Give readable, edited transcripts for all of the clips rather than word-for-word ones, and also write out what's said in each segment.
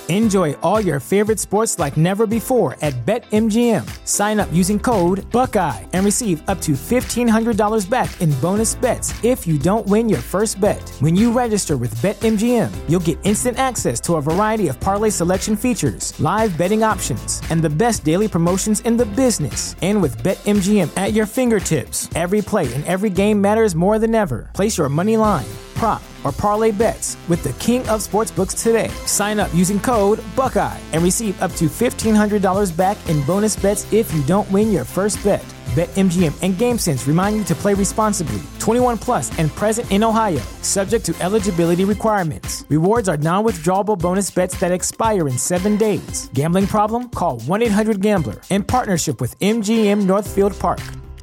Enjoy all your favorite sports like never before at BetMGM. Sign up using code Buckeye and receive up to $1,500 back in bonus bets if you don't win your first bet. When you register with BetMGM, you'll get instant access to a variety of parlay selection features, live betting options, and the best daily promotions in the business. And with BetMGM at your fingertips, every play and every game matters more than ever. Place your money line, prop, or parlay bets with the king of sportsbooks today. Sign up using code Buckeye and receive up to $1,500 back in bonus bets if you don't win your first bet. BetMGM and GameSense remind you to play responsibly. 21 plus and present in Ohio, subject to eligibility requirements. Rewards are non-withdrawable bonus bets that expire in 7 days. Gambling problem? Call 1-800-GAMBLER. In partnership with MGM Northfield Park.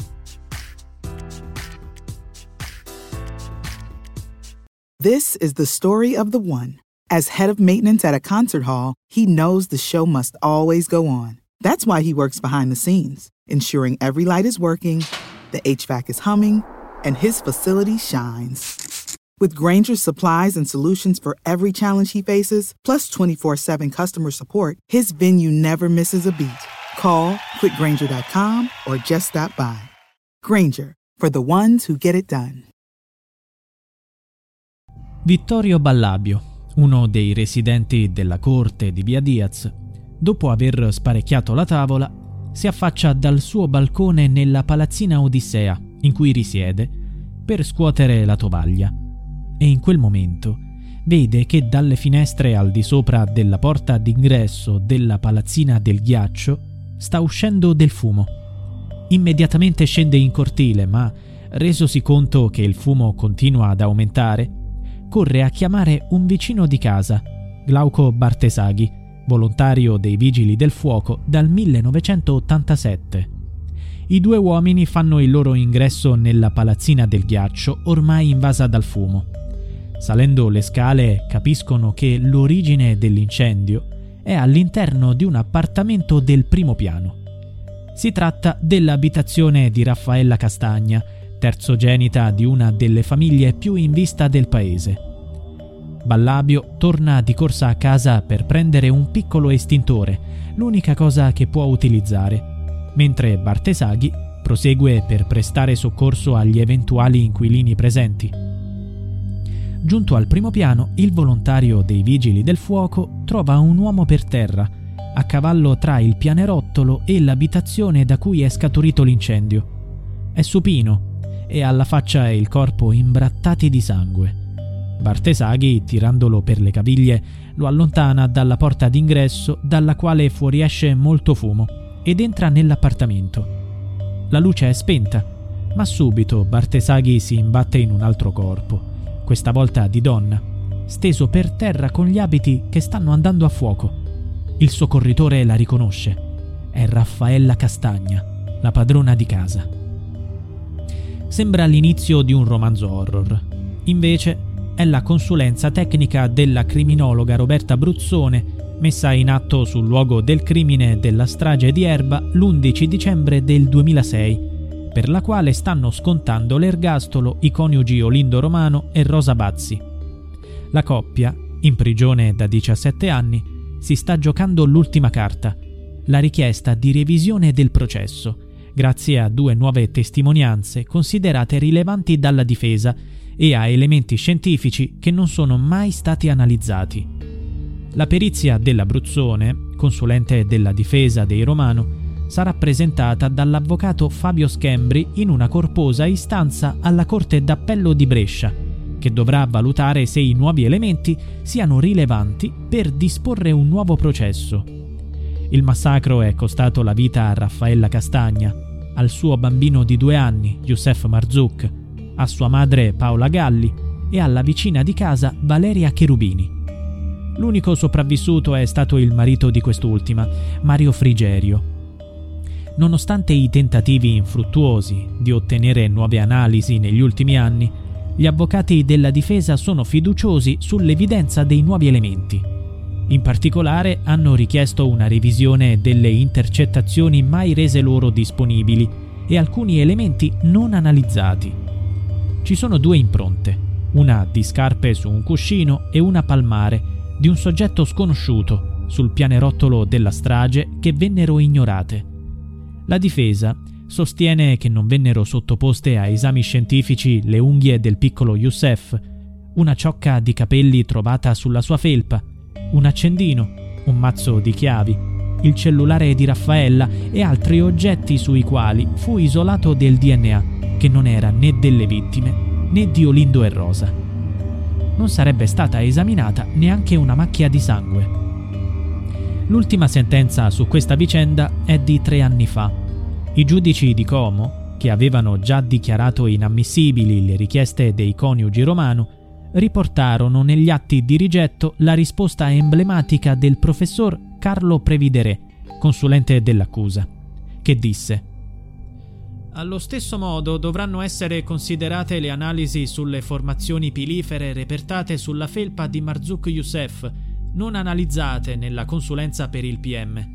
This is the story of the one. As head of maintenance at a concert hall, he knows the show must always go on. That's why he works behind the scenes, ensuring every light is working, the HVAC is humming, and his facility shines. With Grainger's supplies and solutions for every challenge he faces, plus 24/7 customer support, his venue never misses a beat. Call quickgrainger.com or just stop by. Grainger, for the ones who get it done. Vittorio Ballabio, uno dei residenti della corte di Via Diaz, dopo aver sparecchiato la tavola, si affaccia dal suo balcone nella palazzina Odissea in cui risiede per scuotere la tovaglia e in quel momento vede che dalle finestre al di sopra della porta d'ingresso della palazzina del ghiaccio sta uscendo del fumo. Immediatamente scende in cortile, ma resosi conto che il fumo continua ad aumentare, corre a chiamare un vicino di casa, Glauco Bartesaghi, volontario dei Vigili del Fuoco dal 1987. I due uomini fanno il loro ingresso nella palazzina del ghiaccio, ormai invasa dal fumo. Salendo le scale capiscono che l'origine dell'incendio è all'interno di un appartamento del primo piano. Si tratta dell'abitazione di Raffaella Castagna, terzogenita di una delle famiglie più in vista del paese. Ballabio torna di corsa a casa per prendere un piccolo estintore, l'unica cosa che può utilizzare, mentre Bartesaghi prosegue per prestare soccorso agli eventuali inquilini presenti. Giunto al primo piano, il volontario dei Vigili del Fuoco trova un uomo per terra, a cavallo tra il pianerottolo e l'abitazione da cui è scaturito l'incendio. È supino e ha la faccia e il corpo imbrattati di sangue. Bartesaghi, tirandolo per le caviglie, lo allontana dalla porta d'ingresso dalla quale fuoriesce molto fumo ed entra nell'appartamento. La luce è spenta, ma subito Bartesaghi si imbatte in un altro corpo, questa volta di donna, steso per terra con gli abiti che stanno andando a fuoco. Il soccorritore la riconosce. È Raffaella Castagna, la padrona di casa. Sembra l'inizio di un romanzo horror. Invece è la consulenza tecnica della criminologa Roberta Bruzzone, messa in atto sul luogo del crimine della strage di Erba l'11 dicembre del 2006, per la quale stanno scontando l'ergastolo i coniugi Olindo Romano e Rosa Bazzi. La coppia, in prigione da 17 anni, si sta giocando l'ultima carta, la richiesta di revisione del processo, grazie a 2 nuove testimonianze considerate rilevanti dalla difesa e a elementi scientifici che non sono mai stati analizzati. La perizia della Bruzzone, consulente della difesa dei Romano, sarà presentata dall'avvocato Fabio Schembri in una corposa istanza alla Corte d'Appello di Brescia, che dovrà valutare se i nuovi elementi siano rilevanti per disporre un nuovo processo. Il massacro è costato la vita a Raffaella Castagna, al suo bambino di 2 anni, Youssef Marzouk, a sua madre Paola Galli e alla vicina di casa Valeria Cherubini. L'unico sopravvissuto è stato il marito di quest'ultima, Mario Frigerio. Nonostante i tentativi infruttuosi di ottenere nuove analisi negli ultimi anni, gli avvocati della difesa sono fiduciosi sull'evidenza dei nuovi elementi. In particolare hanno richiesto una revisione delle intercettazioni mai rese loro disponibili e alcuni elementi non analizzati. Ci sono 2 impronte, una di scarpe su un cuscino e una palmare, di un soggetto sconosciuto sul pianerottolo della strage che vennero ignorate. La difesa sostiene che non vennero sottoposte a esami scientifici le unghie del piccolo Youssef, una ciocca di capelli trovata sulla sua felpa, un accendino, un mazzo di chiavi, il cellulare di Raffaella e altri oggetti sui quali fu isolato del DNA, che non era né delle vittime né di Olindo e Rosa. Non sarebbe stata esaminata neanche una macchia di sangue. L'ultima sentenza su questa vicenda è di 3 anni fa. I giudici di Como, che avevano già dichiarato inammissibili le richieste dei coniugi Romano, riportarono negli atti di rigetto la risposta emblematica del professor Carlo Previdere, consulente dell'accusa, che disse: «Allo stesso modo dovranno essere considerate le analisi sulle formazioni pilifere repertate sulla felpa di Marzouk Youssef, non analizzate nella consulenza per il PM».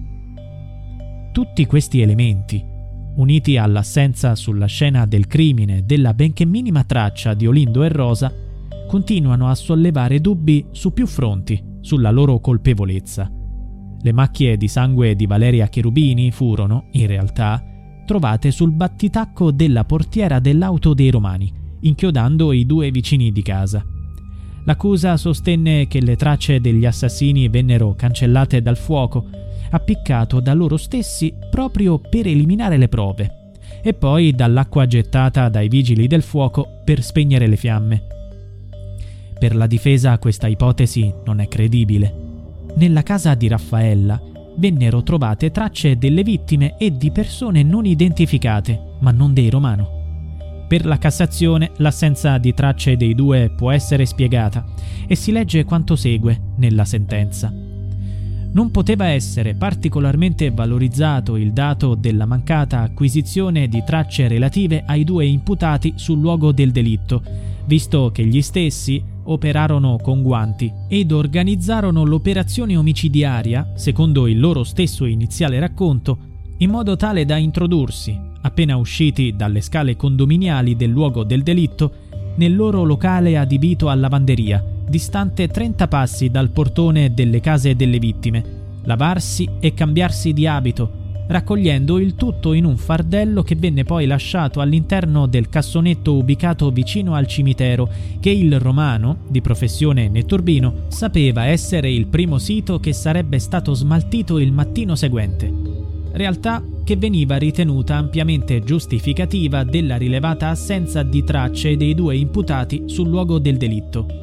Tutti questi elementi, uniti all'assenza sulla scena del crimine della benché minima traccia di Olindo e Rosa, continuano a sollevare dubbi su più fronti sulla loro colpevolezza. Le macchie di sangue di Valeria Cherubini furono, in realtà, trovate sul battitacco della portiera dell'auto dei Romani, inchiodando i 2 vicini di casa. L'accusa sostenne che le tracce degli assassini vennero cancellate dal fuoco, appiccato da loro stessi proprio per eliminare le prove, e poi dall'acqua gettata dai vigili del fuoco per spegnere le fiamme. Per la difesa questa ipotesi non è credibile. Nella casa di Raffaella vennero trovate tracce delle vittime e di persone non identificate, ma non dei Romano. Per la Cassazione l'assenza di tracce dei 2 può essere spiegata e si legge quanto segue nella sentenza. Non poteva essere particolarmente valorizzato il dato della mancata acquisizione di tracce relative ai 2 imputati sul luogo del delitto, visto che gli stessi operarono con guanti ed organizzarono l'operazione omicidiaria, secondo il loro stesso iniziale racconto, in modo tale da introdursi, appena usciti dalle scale condominiali del luogo del delitto, nel loro locale adibito a lavanderia, distante 30 passi dal portone delle case delle vittime, lavarsi e cambiarsi di abito, raccogliendo il tutto in un fardello che venne poi lasciato all'interno del cassonetto ubicato vicino al cimitero, che il Romano, di professione netturbino, sapeva essere il primo sito che sarebbe stato smaltito il mattino seguente. Realtà che veniva ritenuta ampiamente giustificativa della rilevata assenza di tracce dei 2 imputati sul luogo del delitto.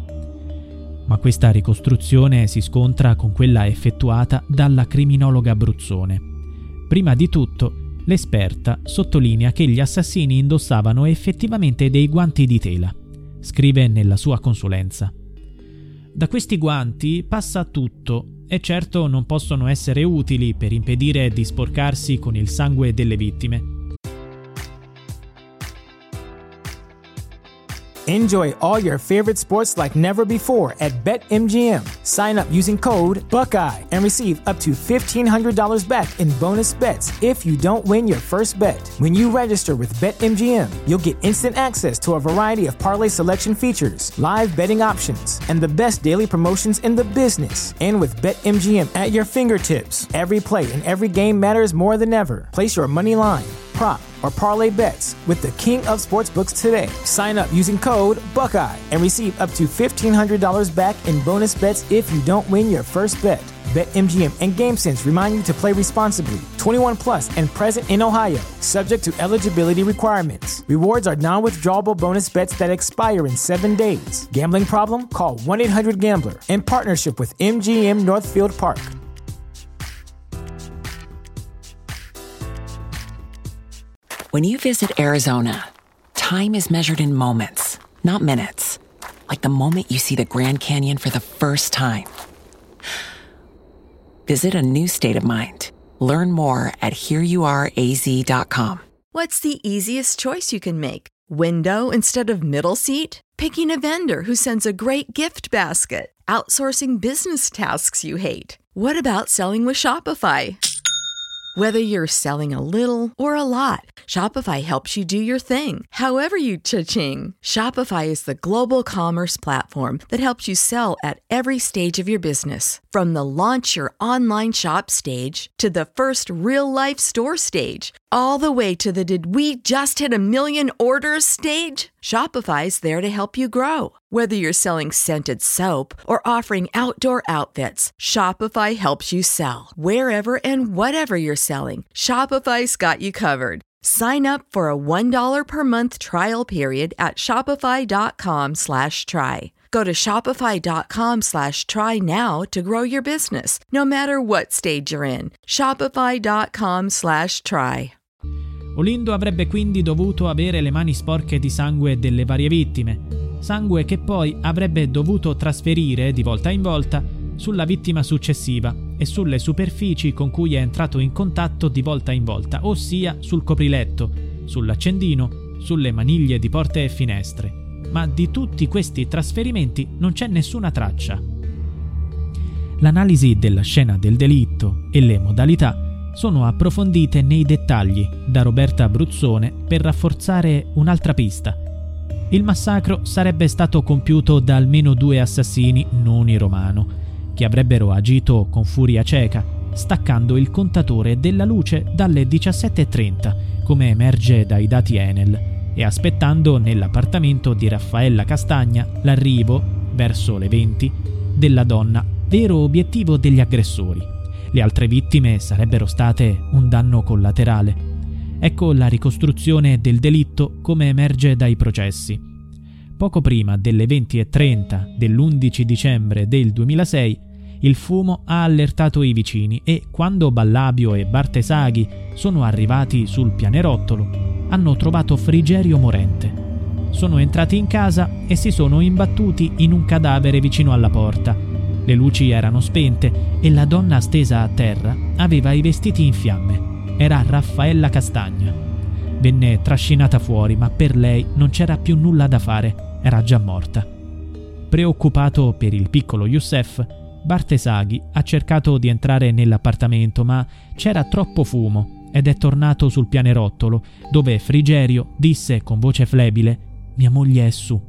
Ma questa ricostruzione si scontra con quella effettuata dalla criminologa Bruzzone. Prima di tutto, l'esperta sottolinea che gli assassini indossavano effettivamente dei guanti di tela. Scrive nella sua consulenza: «Da questi guanti passa tutto e certo non possono essere utili per impedire di sporcarsi con il sangue delle vittime». Enjoy all your favorite sports like never before at BetMGM. Sign up using code Buckeye and receive up to $1,500 back in bonus bets if you don't win your first bet. When you register with BetMGM, you'll get instant access to a variety of parlay selection features, live betting options, and the best daily promotions in the business. And with BetMGM at your fingertips, every play and every game matters more than ever. Place your money line, prop, or parlay bets with the king of sportsbooks today. Sign up using code Buckeye and receive up to $1,500 back in bonus bets if you don't win your first bet. BetMGM and GameSense remind you to play responsibly. 21 plus and present in Ohio, subject to eligibility requirements. Rewards are non-withdrawable bonus bets that expire in 7 days. Gambling problem? Call 1-800-GAMBLER. In partnership with MGM Northfield Park. When you visit Arizona, time is measured in moments, not minutes. Like the moment you see the Grand Canyon for the first time. Visit a new state of mind. Learn more at hereyouareaz.com. What's the easiest choice you can make? Window instead of middle seat? Picking a vendor who sends a great gift basket? Outsourcing business tasks you hate? What about selling with Shopify? Whether you're selling a little or a lot, Shopify helps you do your thing, however you cha-ching. Shopify is the global commerce platform that helps you sell at every stage of your business. From the launch your online shop stage to the first real-life store stage, all the way to the did we just hit a million orders stage. Shopify's there to help you grow. Whether you're selling scented soap or offering outdoor outfits, Shopify helps you sell. Wherever and whatever you're selling, Shopify's got you covered. Sign up for a $1 per month trial period at shopify.com/try. Go to shopify.com/try now to grow your business, no matter what stage you're in. Shopify.com/try. Olindo avrebbe quindi dovuto avere le mani sporche di sangue delle varie vittime, sangue che poi avrebbe dovuto trasferire di volta in volta sulla vittima successiva e sulle superfici con cui è entrato in contatto di volta in volta, ossia sul copriletto, sull'accendino, sulle maniglie di porte e finestre. Ma di tutti questi trasferimenti non c'è nessuna traccia. L'analisi della scena del delitto e le modalità sono approfondite nei dettagli da Roberta Bruzzone per rafforzare un'altra pista. Il massacro sarebbe stato compiuto da almeno 2 assassini non in romano, che avrebbero agito con furia cieca, staccando il contatore della luce dalle 17:30, come emerge dai dati Enel, e aspettando nell'appartamento di Raffaella Castagna l'arrivo, verso le 20, della donna, vero obiettivo degli aggressori. Le altre vittime sarebbero state un danno collaterale. Ecco la ricostruzione del delitto come emerge dai processi. Poco prima delle 20:30 dell'11 dicembre del 2006, il fumo ha allertato i vicini e, quando Ballabio e Bartesaghi sono arrivati sul pianerottolo, hanno trovato Frigerio morente. Sono entrati in casa e si sono imbattuti in un cadavere vicino alla porta. Le luci erano spente e la donna stesa a terra aveva i vestiti in fiamme. Era Raffaella Castagna. Venne trascinata fuori, ma per lei non c'era più nulla da fare, era già morta. Preoccupato per il piccolo Youssef, Bartesaghi ha cercato di entrare nell'appartamento, ma c'era troppo fumo ed è tornato sul pianerottolo, dove Frigerio disse con voce flebile: «Mia moglie è su».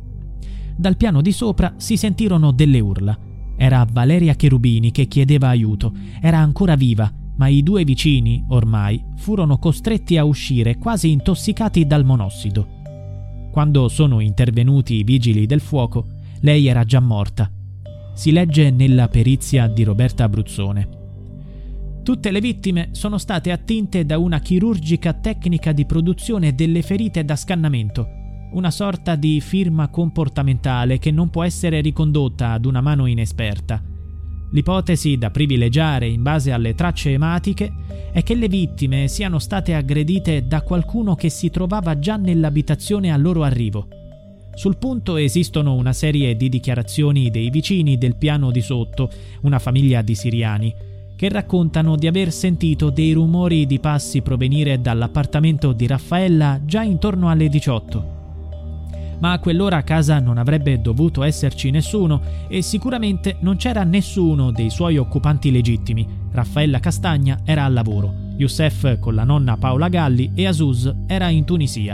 Dal piano di sopra si sentirono delle urla. Era Valeria Cherubini che chiedeva aiuto. Era ancora viva, ma i 2 vicini, ormai, furono costretti a uscire quasi intossicati dal monossido. Quando sono intervenuti i vigili del fuoco, lei era già morta. Si legge nella perizia di Roberta Bruzzone. Tutte le vittime sono state attinte da una chirurgica tecnica di produzione delle ferite da scannamento, una sorta di firma comportamentale che non può essere ricondotta ad una mano inesperta. L'ipotesi da privilegiare in base alle tracce ematiche è che le vittime siano state aggredite da qualcuno che si trovava già nell'abitazione al loro arrivo. Sul punto esistono una serie di dichiarazioni dei vicini del piano di sotto, una famiglia di siriani, che raccontano di aver sentito dei rumori di passi provenire dall'appartamento di Raffaella già intorno alle 18. Ma a quell'ora a casa non avrebbe dovuto esserci nessuno e sicuramente non c'era nessuno dei suoi occupanti legittimi. Raffaella Castagna era al lavoro, Youssef con la nonna Paola Galli e Asus era in Tunisia.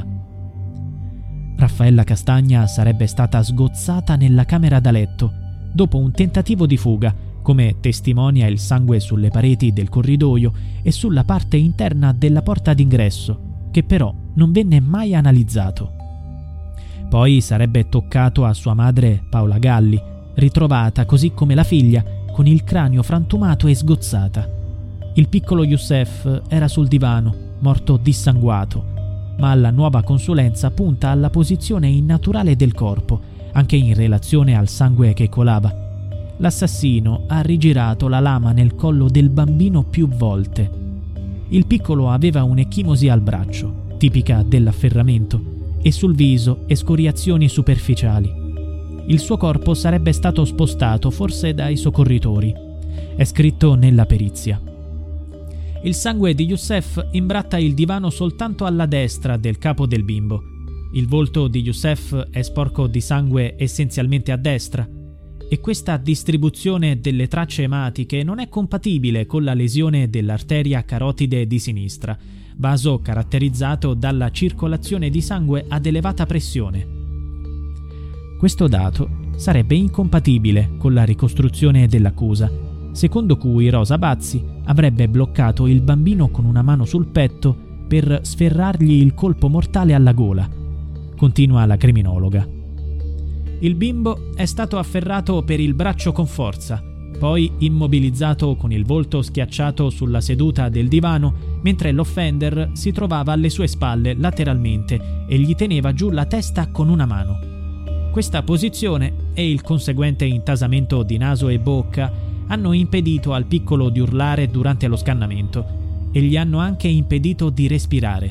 Raffaella Castagna sarebbe stata sgozzata nella camera da letto dopo un tentativo di fuga, come testimonia il sangue sulle pareti del corridoio e sulla parte interna della porta d'ingresso, che però non venne mai analizzato. Poi sarebbe toccato a sua madre Paola Galli, ritrovata così come la figlia, con il cranio frantumato e sgozzata. Il piccolo Youssef era sul divano, morto dissanguato, ma la nuova consulenza punta alla posizione innaturale del corpo, anche in relazione al sangue che colava. L'assassino ha rigirato la lama nel collo del bambino più volte. Il piccolo aveva un'ecchimosi al braccio, tipica dell'afferramento, e sul viso escoriazioni superficiali. Il suo corpo sarebbe stato spostato forse dai soccorritori. È scritto nella perizia. Il sangue di Youssef imbratta il divano soltanto alla destra del capo del bimbo. Il volto di Youssef è sporco di sangue essenzialmente a destra. e questa distribuzione delle tracce ematiche non è compatibile con la lesione dell'arteria carotide di sinistra, vaso caratterizzato dalla circolazione di sangue ad elevata pressione. Questo dato sarebbe incompatibile con la ricostruzione dell'accusa, secondo cui Rosa Bazzi avrebbe bloccato il bambino con una mano sul petto per sferrargli il colpo mortale alla gola. Continua la criminologa. Il bimbo è stato afferrato per il braccio con forza, poi immobilizzato con il volto schiacciato sulla seduta del divano, mentre l'offender si trovava alle sue spalle lateralmente e gli teneva giù la testa con una mano. Questa posizione e il conseguente intasamento di naso e bocca hanno impedito al piccolo di urlare durante lo scannamento e gli hanno anche impedito di respirare.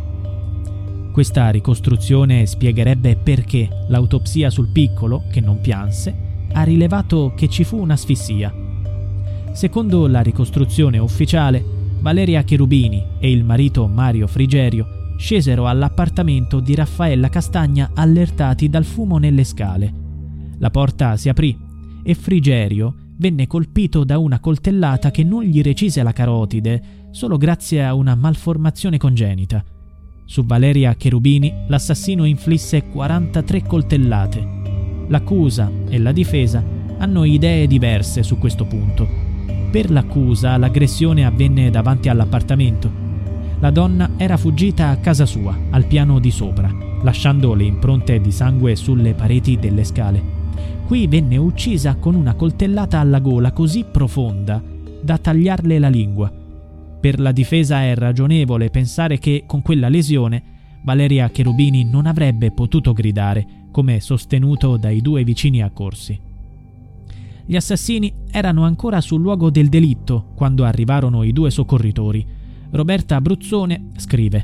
Questa ricostruzione spiegherebbe perché l'autopsia sul piccolo, che non pianse, ha rilevato che ci fu un'asfissia. Secondo la ricostruzione ufficiale, Valeria Cherubini e il marito Mario Frigerio scesero all'appartamento di Raffaella Castagna allertati dal fumo nelle scale. La porta si aprì e Frigerio venne colpito da una coltellata che non gli recise la carotide solo grazie a una malformazione congenita. Su Valeria Cherubini l'assassino inflisse 43 coltellate. L'accusa e la difesa hanno idee diverse su questo punto. Per l'accusa l'aggressione avvenne davanti all'appartamento. La donna era fuggita a casa sua, al piano di sopra, lasciando le impronte di sangue sulle pareti delle scale. Qui venne uccisa con una coltellata alla gola così profonda da tagliarle la lingua. Per la difesa è ragionevole pensare che con quella lesione Valeria Cherubini non avrebbe potuto gridare, come sostenuto dai due vicini accorsi. Gli assassini erano ancora sul luogo del delitto quando arrivarono i due soccorritori. Roberta Abruzzone scrive: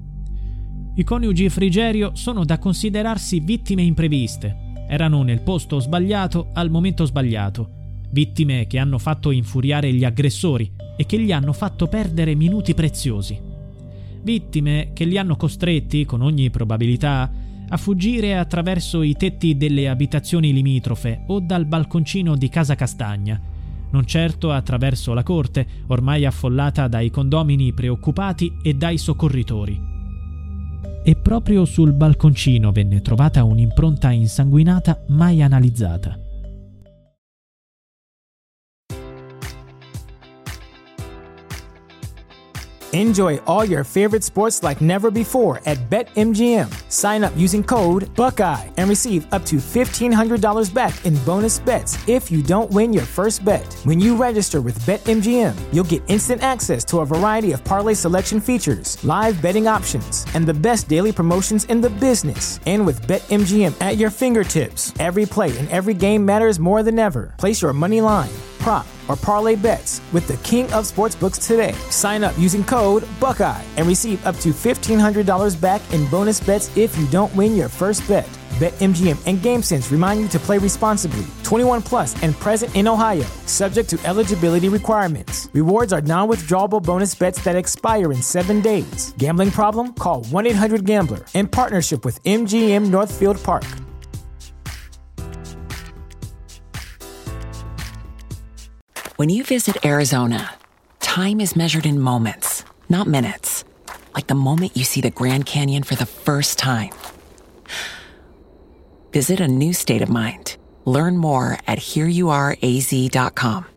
I coniugi Frigerio sono da considerarsi vittime impreviste. Erano nel posto sbagliato al momento sbagliato. Vittime che hanno fatto infuriare gli aggressori e che gli hanno fatto perdere minuti preziosi. Vittime che li hanno costretti, con ogni probabilità, a fuggire attraverso i tetti delle abitazioni limitrofe o dal balconcino di Casa Castagna, non certo attraverso la corte, ormai affollata dai condomini preoccupati e dai soccorritori. E proprio sul balconcino venne trovata un'impronta insanguinata mai analizzata. Enjoy all your favorite sports like never before at BetMGM. Sign up using code Buckeye and receive up to $1,500 back in bonus bets if you don't win your first bet. When you register with BetMGM, you'll get instant access to a variety of parlay selection features, live betting options, and the best daily promotions in the business. And with BetMGM at your fingertips, every play and every game matters more than ever. Place your money line, prop, or parlay bets with the king of sportsbooks today. Sign up using code Buckeye and receive up to $1,500 back in bonus bets if you don't win your first bet. BetMGM and GameSense remind you to play responsibly. 21 plus and present in Ohio, subject to eligibility requirements. Rewards are non-withdrawable bonus bets that expire in 7 days. Gambling problem? Call 1-800-GAMBLER. In partnership with MGM Northfield Park. When you visit Arizona, time is measured in moments, not minutes. Like the moment you see the Grand Canyon for the first time. Visit a new state of mind. Learn more at hereyouareaz.com.